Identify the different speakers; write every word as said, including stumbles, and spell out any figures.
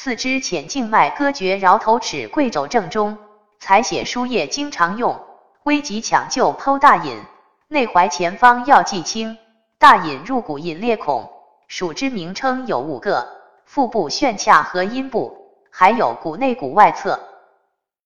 Speaker 1: 四肢浅静脉割绝桡头齿贵肘正中，采血输液经常用，危急抢救剖大隐，内踝前方要记清，大隐入骨隐裂孔，属之名称有五个，腹部旋髂和阴部，还有骨内骨外侧。